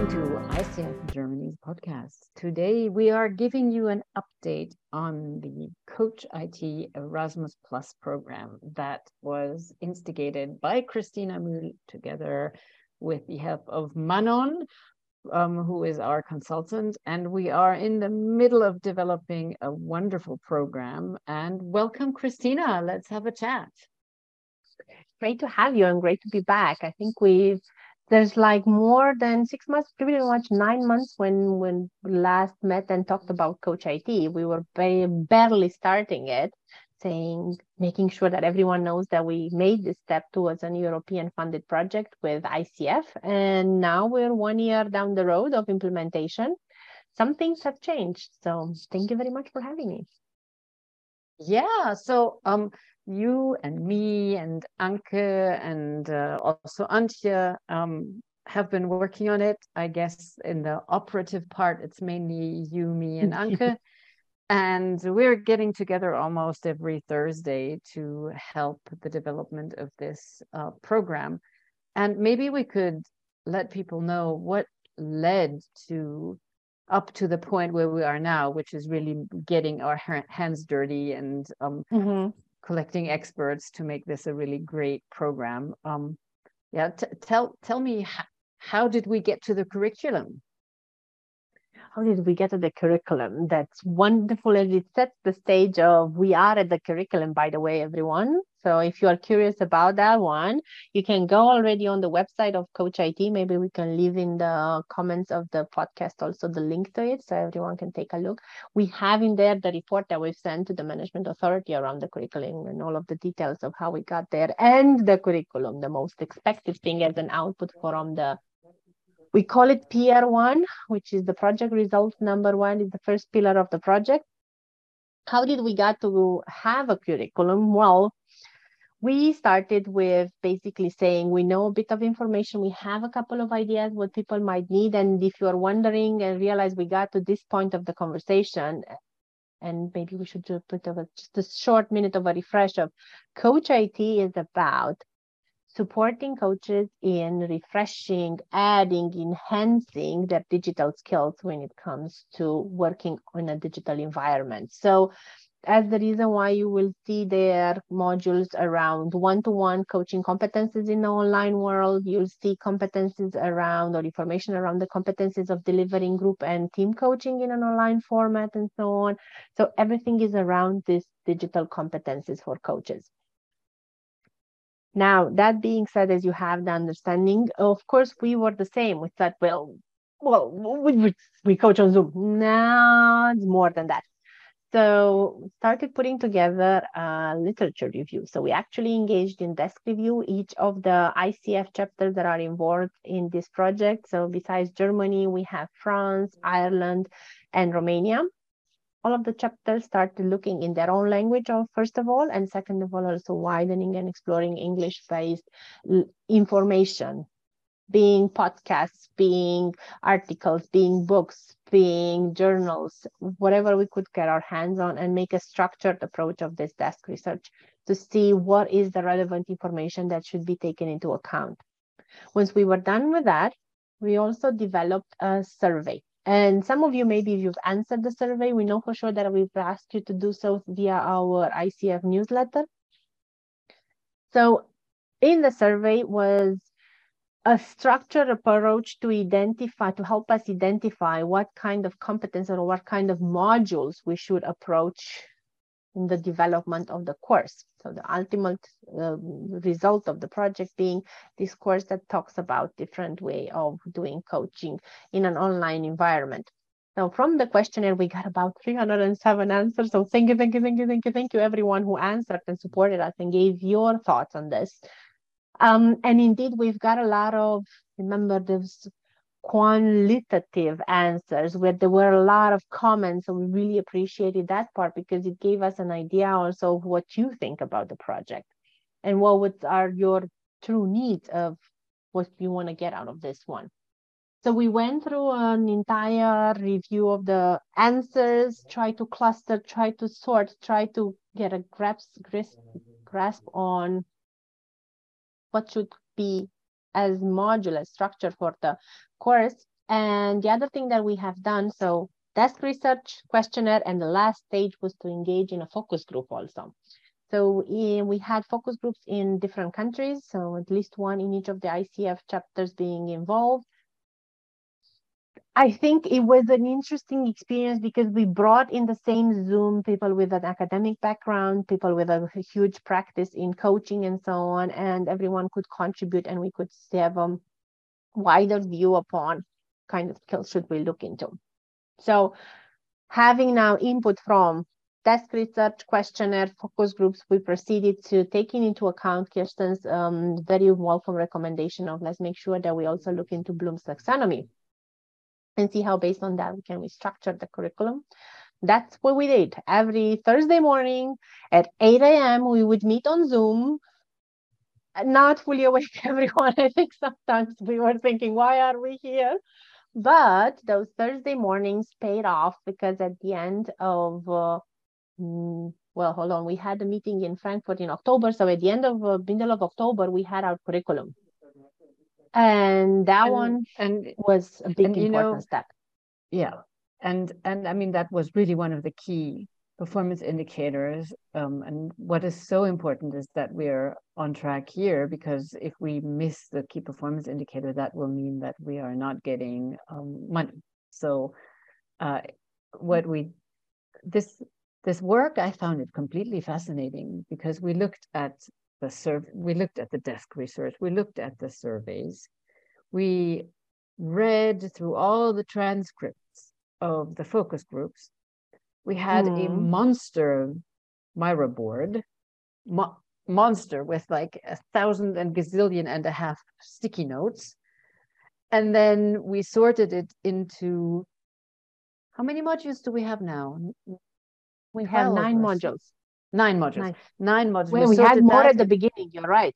listening to ICF Germany's podcast. Today, we are giving you an update on the Coach IT Erasmus Plus program that was instigated by Christina Mühl together with the help of Manon, who is our consultant. And we are in the middle of developing a wonderful program. And welcome, Christina. Let's have a chat. Great to have you and great to be back. I think there's like more than 6 months, pretty much 9 months when we last met and talked about Coach IT. We were barely starting it, making sure that everyone knows that we made this step towards an European funded project with ICF. And now we're 1 year down the road of implementation. Some things have changed. So thank you very much for having me. Yeah, so you and me and Anke and also Antje have been working on it. I guess in the operative part, it's mainly you, me, and Anke. And we're getting together almost every Thursday to help the development of this program. And maybe we could let people know what led up to the point where we are now, which is really getting our hands dirty and collecting experts to make this a really great program. Tell me, how did we get to the curriculum? How did we get to the curriculum? That's wonderful, as it sets the stage of we are at the curriculum, by the way, everyone. So if you are curious about that one, you can go already on the website of Coach IT. Maybe we can leave in the comments of the podcast also the link to it so everyone can take a look. We have in there the report that we've sent to the management authority around the curriculum and all of the details of how we got there and the curriculum, the most expected thing as an output from we call it PR1, which is the project results number 1, is the first pillar of the project. How did we get to have a curriculum? Well, we started with basically saying we know a bit of information. We have a couple of ideas what people might need. And if you are wondering and realize we got to this point of the conversation, and maybe we should put just a short minute of a refresh of Coach IT is about supporting coaches in refreshing, adding, enhancing their digital skills when it comes to working in a digital environment. So as the reason why you will see their modules around one-to-one coaching competencies in the online world, you'll see competencies around or information around the competencies of delivering group and team coaching in an online format and so on. So everything is around these digital competencies for coaches. Now, that being said, as you have the understanding, of course, we were the same. We thought, we coach on Zoom. No, it's more than that. So we started putting together a literature review. So we actually engaged in desk review each of the ICF chapters that are involved in this project. So besides Germany, we have France, Ireland, and Romania. All of the chapters started looking in their own language, first of all, and second of all, also widening and exploring English-based information, being podcasts, being articles, being books, being journals, whatever we could get our hands on, and make a structured approach of this desk research to see what is the relevant information that should be taken into account. Once we were done with that, we also developed a survey. And some of you, maybe if you've answered the survey, we know for sure that we've asked you to do so via our ICF newsletter. So in the survey was a structured approach to help us identify what kind of competence or what kind of modules we should approach in the development of the course. So the ultimate result of the project being this course that talks about different way of doing coaching in an online environment. Now, from the questionnaire, we got about 307 answers. So thank you, everyone who answered and supported us and gave your thoughts on this. And indeed, we've got a lot of, remember, there's qualitative answers where there were a lot of comments. So we really appreciated that part because it gave us an idea also of what you think about the project and what are your true needs of what you want to get out of this one. So we went through an entire review of the answers, try to cluster, try to sort, try to get a grasp on what should be as modular structure for the course. And the other thing that we have done, so desk research, questionnaire, and the last stage was to engage in a focus group also. So we had focus groups in different countries, so at least one in each of the ICF chapters being involved. I think it was an interesting experience because we brought in the same Zoom people with an academic background, people with a huge practice in coaching and so on, and everyone could contribute and we could have a wider view upon kind of skills should we look into. So having now input from desk research, questionnaire, focus groups, we proceeded to taking into account Kirsten's very welcome recommendation of let's make sure that we also look into Bloom's taxonomy and see how based on that we can restructure the curriculum. That's what we did. Every Thursday morning at 8 a.m. we would meet on Zoom. Not fully awake, everyone. I think sometimes we were thinking, why are we here? But those Thursday mornings paid off because at the end of, well, hold on, we had a meeting in Frankfurt in October. So at the end of middle of October, we had our curriculum. And that was a big important step. Yeah. And I mean, that was really one of the key performance indicators. And what is so important is that we're on track here, because if we miss the key performance indicator, that will mean that we are not getting money. So this work, I found it completely fascinating because we looked at the desk research, we looked at the surveys, we read through all the transcripts of the focus groups. We had a monster Miro board, monster with like 1,000 and gazillion and a half sticky notes. And then we sorted it into, how many modules do we have now? We have 9 modules. 9 modules. 9 modules. Well, we had more at the beginning, you're right.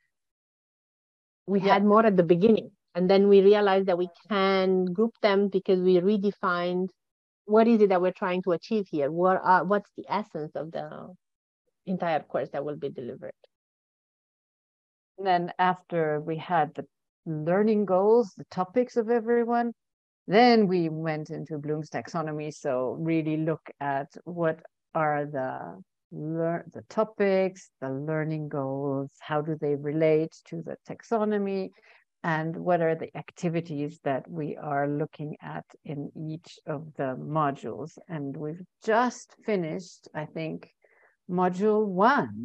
We had more at the beginning. And then we realized that we can group them because we redefined what is it that we're trying to achieve here? What's the essence of the entire course that will be delivered? And then after we had the learning goals, the topics of everyone, then we went into Bloom's taxonomy. So really look at what are the topics, the learning goals, how do they relate to the taxonomy, and what are the activities that we are looking at in each of the modules. And we've just finished, I think, module 1.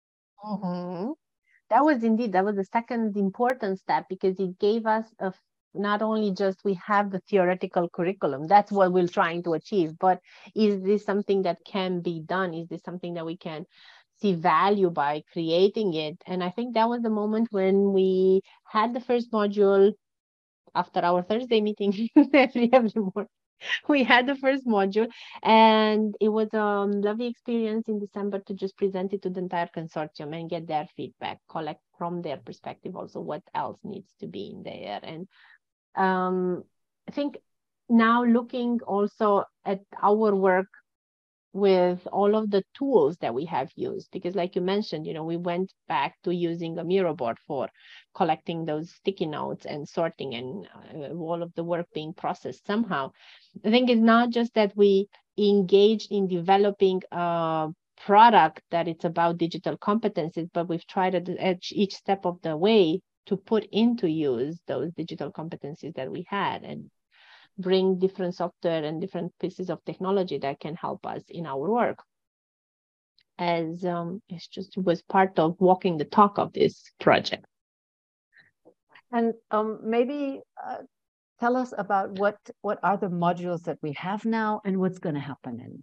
That was the second important step, because it gave us not only just we have the theoretical curriculum, that's what we're trying to achieve, but is this something that can be done? Is this something that we can see value by creating it? And I think that was the moment when we had the first module after our Thursday meeting every morning. We had the first module, and it was a lovely experience in December to just present it to the entire consortium and get their feedback, collect from their perspective also what else needs to be in there. And I think now looking also at our work with all of the tools that we have used, because like you mentioned, we went back to using a Miro board for collecting those sticky notes and sorting and all of the work being processed somehow. I think it's not just that we engaged in developing a product that it's about digital competencies, but we've tried at each step of the way to put into use those digital competencies that we had and bring different software and different pieces of technology that can help us in our work. As it was part of walking the talk of this project. And maybe tell us about what are the modules that we have now and what's going to happen in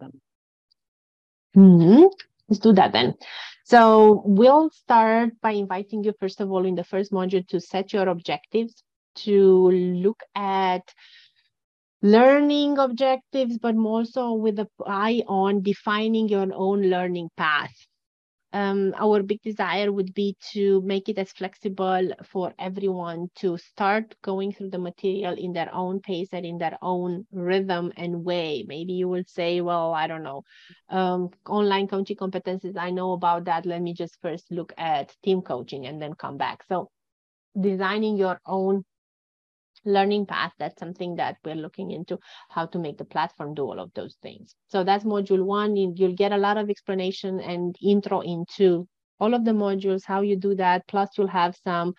them. Let's do that then. So we'll start by inviting you, first of all, in the first module to set your objectives, to look at learning objectives, but also with an eye on defining your own learning path. Our big desire would be to make it as flexible for everyone to start going through the material in their own pace and in their own rhythm and way. Maybe you will say, well, I don't know, online coaching competencies, I know about that. Let me just first look at team coaching and then come back. So designing your own learning path, that's something that we're looking into, how to make the platform do all of those things. So that's module 1. You'll get a lot of explanation and intro into all of the modules, how you do that. Plus you'll have some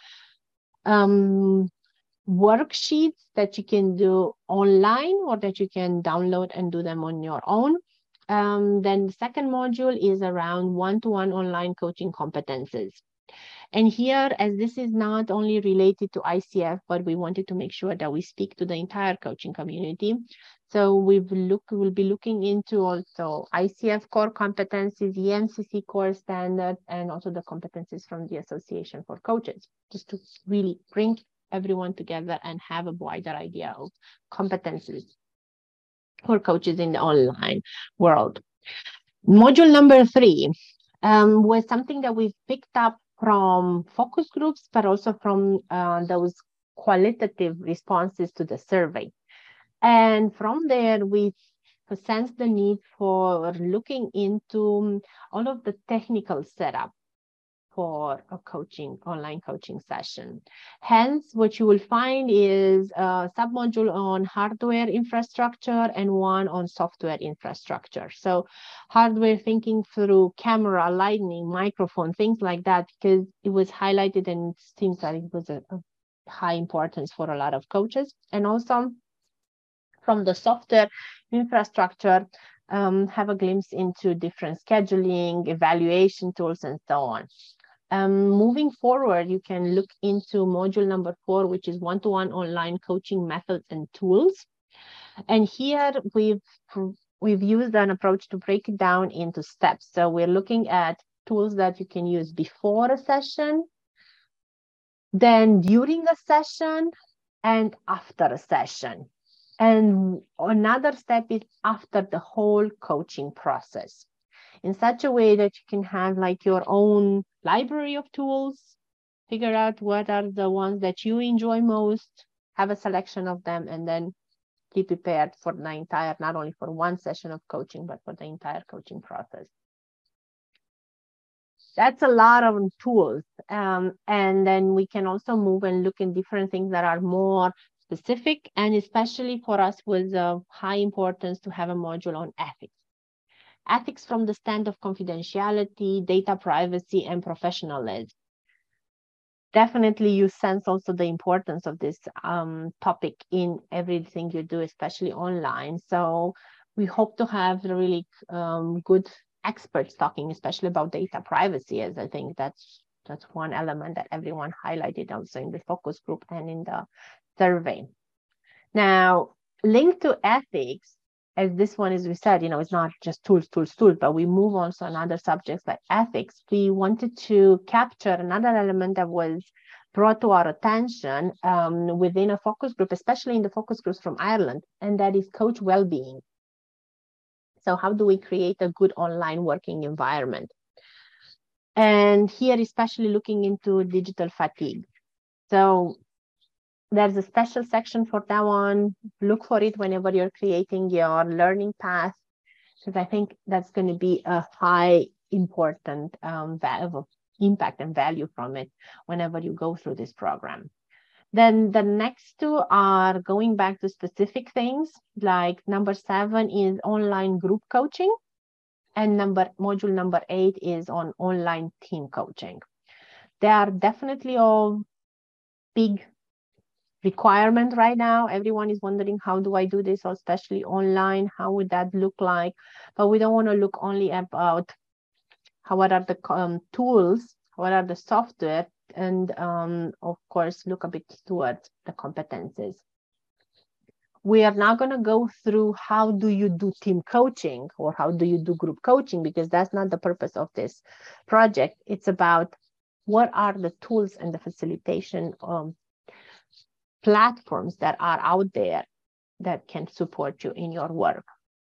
worksheets that you can do online or that you can download and do them on your own. Then the second module is around one-to-one online coaching competences. And here, as this is not only related to ICF, but we wanted to make sure that we speak to the entire coaching community. So we'll be looking into also ICF core competencies, EMCC core standard, and also the competencies from the Association for Coaches, just to really bring everyone together and have a wider idea of competencies for coaches in the online world. Module number 3 was something that we picked up from focus groups, but also from those qualitative responses to the survey. And from there, we sensed the need for looking into all of the technical setup for a online coaching session. Hence, what you will find is a submodule on hardware infrastructure and one on software infrastructure. So hardware, thinking through camera, lighting, microphone, things like that, because it was highlighted and it seems that it was a high importance for a lot of coaches. And also from the software infrastructure, have a glimpse into different scheduling, evaluation tools, and so on. Moving forward, you can look into module number 4, which is one-to-one online coaching methods and tools. And here we've used an approach to break it down into steps. So we're looking at tools that you can use before a session, then during a session, and after a session. And another step is after the whole coaching process, in such a way that you can have like your own library of tools, figure out what are the ones that you enjoy most, have a selection of them, and then be prepared for the entire, not only for one session of coaching, but for the entire coaching process. That's a lot of tools. And then we can also move and look in different things that are more specific, and especially for us was of high importance to have a module on ethics. Ethics from the stand of confidentiality, data privacy, and professionalism. Definitely you sense also the importance of this topic in everything you do, especially online. So we hope to have really good experts talking, especially about data privacy, as I think that's one element that everyone highlighted also in the focus group and in the survey. Now, linked to ethics, as this one, as we said, it's not just tools, but we move also on other subjects like ethics. We wanted to capture another element that was brought to our attention within a focus group, especially in the focus groups from Ireland, and that is coach well-being. So how do we create a good online working environment? And here, especially looking into digital fatigue. So there's a special section for that one. Look for it whenever you're creating your learning path, because I think that's going to be a high important impact and value from it whenever you go through this program. Then the next two are going back to specific things, like number 7 is online group coaching, and module number 8 is on online team coaching. They are definitely all big requirement right now. Everyone is wondering, how do I do this, especially online? How would that look like? But we don't want to look only about what are the tools, what are the software, and of course, look a bit towards the competencies. We are now going to go through how do you do team coaching or how do you do group coaching, because that's not the purpose of this project. It's about what are the tools and the facilitation platforms that are out there that can support you in your work.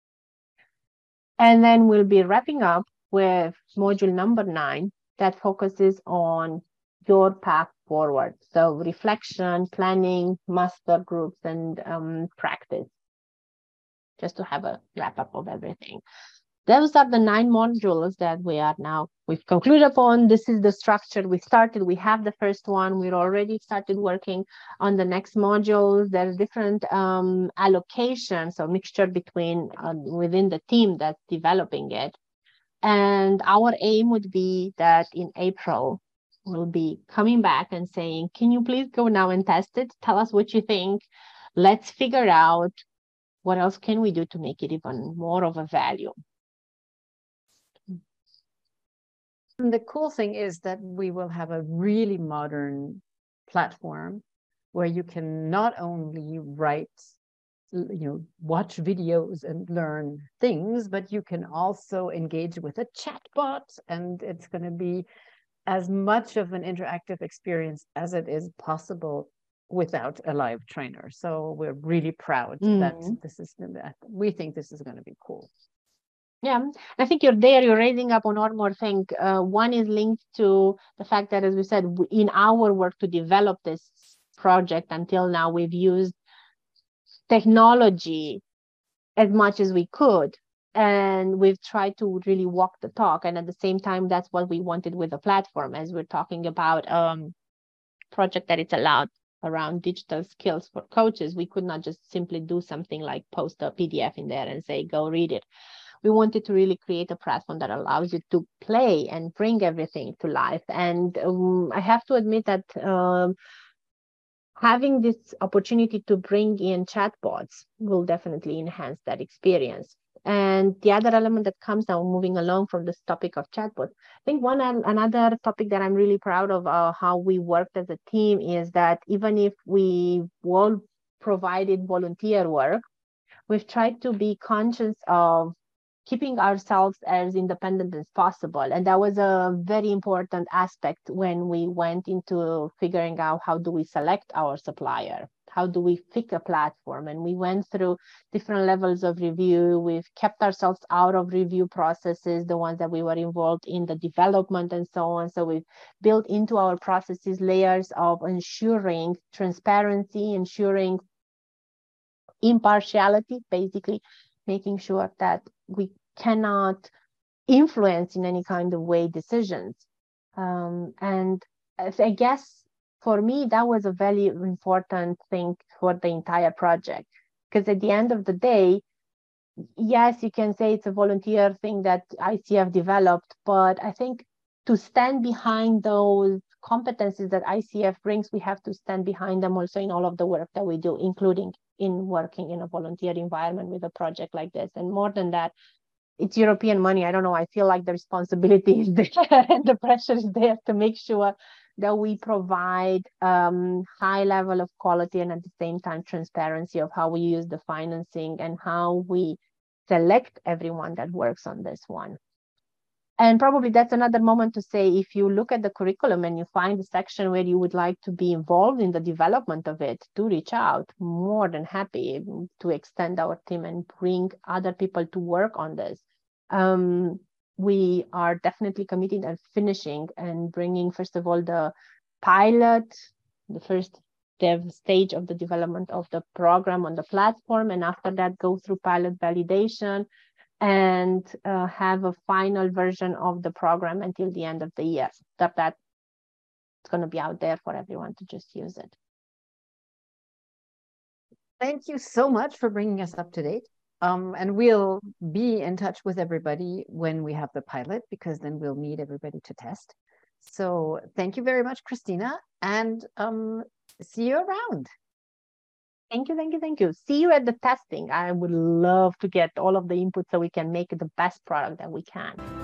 And then we'll be wrapping up with module number 9 that focuses on your path forward. So reflection, planning, master groups, and practice, just to have a wrap up of everything. those are the 9 modules that we've concluded upon. This is the structure we started. We have the first one. We're already started working on the next modules. There's different allocations, so mixture between within the team that's developing it. And our aim would be that in April, we'll be coming back and saying, can you please go now and test it? Tell us what you think. Let's figure out what else can we do to make it even more of a value. And the cool thing is that we will have a really modern platform where you can not only write, watch videos and learn things, but you can also engage with a chatbot, and it's going to be as much of an interactive experience as it is possible without a live trainer. So we're really proud that we think this is going to be cool. Yeah, I think you're raising up on one more thing. One is linked to the fact that, as we said, in our work to develop this project until now, we've used technology as much as we could. And we've tried to really walk the talk. And at the same time, that's what we wanted with the platform, as we're talking about project that it's allowed around digital skills for coaches. We could not just simply do something like post a PDF in there and say, go read it. We wanted to really create a platform that allows you to play and bring everything to life. And I have to admit that having this opportunity to bring in chatbots will definitely enhance that experience. And the other element that comes now, moving along from this topic of chatbots, I think another topic that I'm really proud of how we worked as a team is that even if we all provided volunteer work, we've tried to be conscious of keeping ourselves as independent as possible. And that was a very important aspect when we went into figuring out how do we select our supplier, how do we pick a platform. And we went through different levels of review. We've kept ourselves out of review processes, the ones that we were involved in the development and so on. So we've built into our processes layers of ensuring transparency, ensuring impartiality, basically making sure that we cannot influence in any kind of way decisions. And I guess for me, that was a very important thing for the entire project. Because at the end of the day, yes, you can say it's a volunteer thing that ICF developed, but I think to stand behind those competencies that ICF brings, we have to stand behind them also in all of the work that we do, including in working in a volunteer environment with a project like this. And more than that, it's European money. I don't know. I feel like the responsibility is there and the pressure is there to make sure that we provide high level of quality and at the same time transparency of how we use the financing and how we select everyone that works on this one. And probably that's another moment to say, if you look at the curriculum and you find a section where you would like to be involved in the development of it, do reach out. More than happy to extend our team and bring other people to work on this. We are definitely committed and finishing and bringing, first of all, the pilot, the first dev stage of the development of the program on the platform. And after that, go through pilot validation and have a final version of the program until the end of the year. So that it's going to be out there for everyone to just use it. Thank you so much for bringing us up to date. And we'll be in touch with everybody when we have the pilot, because then we'll need everybody to test. So thank you very much, Christina, and see you around. Thank you, thank you, thank you. See you at the testing. I would love to get all of the input so we can make the best product that we can.